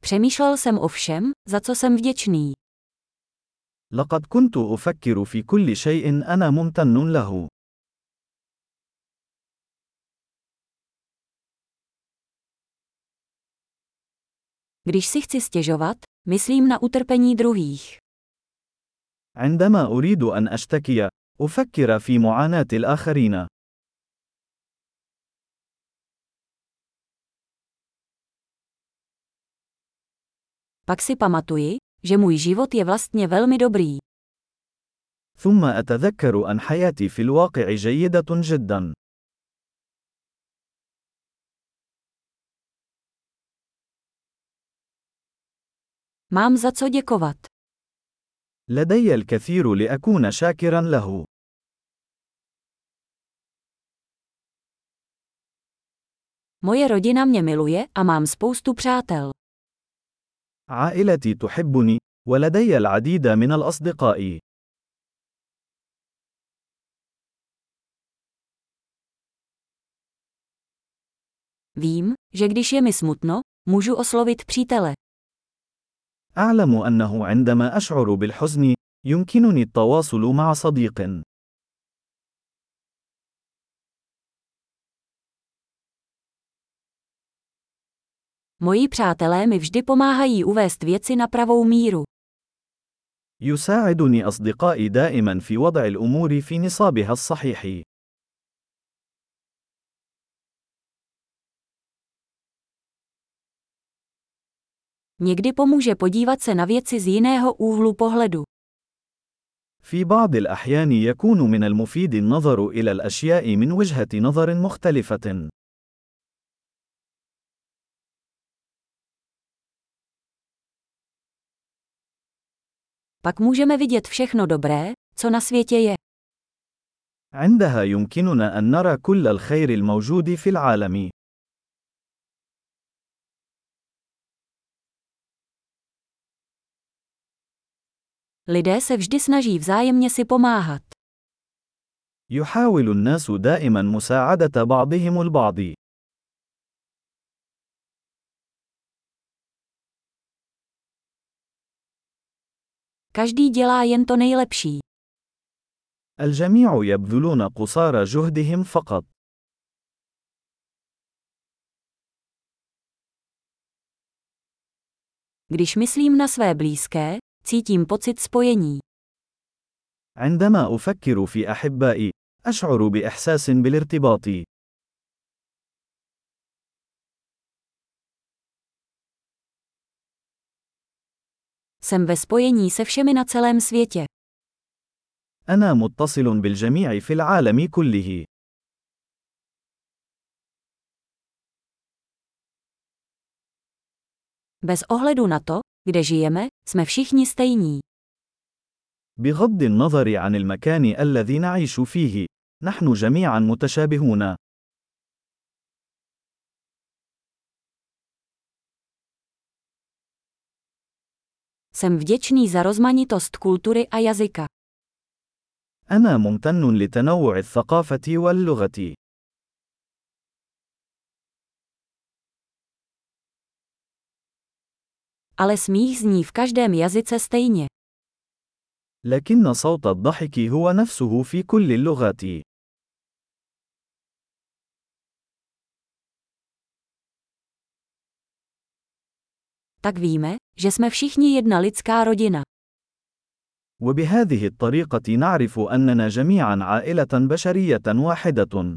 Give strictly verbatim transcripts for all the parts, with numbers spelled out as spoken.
Přemýšlel jsem o všem, za co jsem vděčný. لقد كنت أفكر في كل شيء أنا ممتن له. Když si chci stěžovat, myslím na utrpení druhých. عندما أريد أن أشتكي، أفكر في معاناة الآخرين. Pak si pamatuji, že můj život je vlastně velmi dobrý. ثم أتذكر أن حياتي في الواقع جيدة جدا. Mám za co děkovat. لدي الكثير لأكون شاكرا له. Moje rodina mě miluje a mám spoustu přátel. عائلتي تحبني، ولدي العديد من الأصدقاء. Vím, že když je mi smutno, můžu oslovit přítele. أعلم أنه عندما أشعر بالحزن، يمكنني التواصل مع صديق. Moji přátelé mi vždy pomáhají uvést věci na pravou míru. يساعدني أصدقائي دائما في وضع الأمور في نصابها الصحيح. Někdy pomůže podívat se na věci z jiného úhlu pohledu. في بعض الأحيان يكون من المفيد النظر إلى الأشياء من وجهة نظر مختلفة. Pak můžeme vidět všechno dobré, co na světě je. عندها يمكننا أن نرى كل الخير الموجود في العالم. Lidé se vždy snaží vzájemně si pomáhat. يحاول الناس دائما مساعدة بعضهم البعض. Každý dělá jen to nejlepší. الجميع يبذلون قصارى جهدهم فقط. Když myslím na své blízké, cítím pocit spojení. عندما أفكر في أحبائي، أشعر بإحساس بالارتباط. Jsem ve spojení se všemi na celém světě. أنا متصل بالجميع في العالم كله. Bez ohledu na to, kde žijeme, jsme všichni stejní. بغض النظر عن المكان الذي نعيش فيه، نحن جميعا متشابهون. Jsem vděčný za rozmanitost kultury a jazyka. أنا ممتن لتنوع الثقافة واللغة. Ale smích zní v každém jazyce stejně. لكن صوت الضحك هو نفسه في كل اللغات. Tak víme, že jsme všichni jedna lidská rodina. وبهذه الطريقة نعرف أننا جميعا عائلة بشرية واحدة.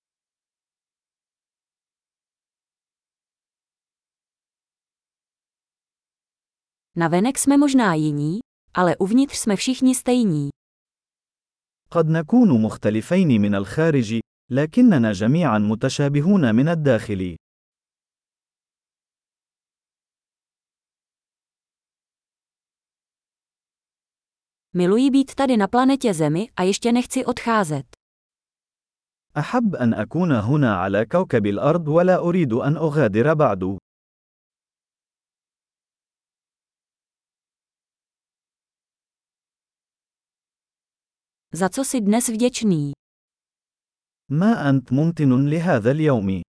Navenek jsme možná jiní, ale uvnitř jsme všichni stejní. قد نكون مختلفين من الخارج، لكننا جميعا متشابهون من الداخل. Miluji být tady na planetě Zemi a ještě nechci odcházet. أحب أن أكون هنا على كوكب الأرض ولا أريد أن أغادر بعد. Za co jsi dnes vděčný? ما أنت ممتن لهذا اليوم؟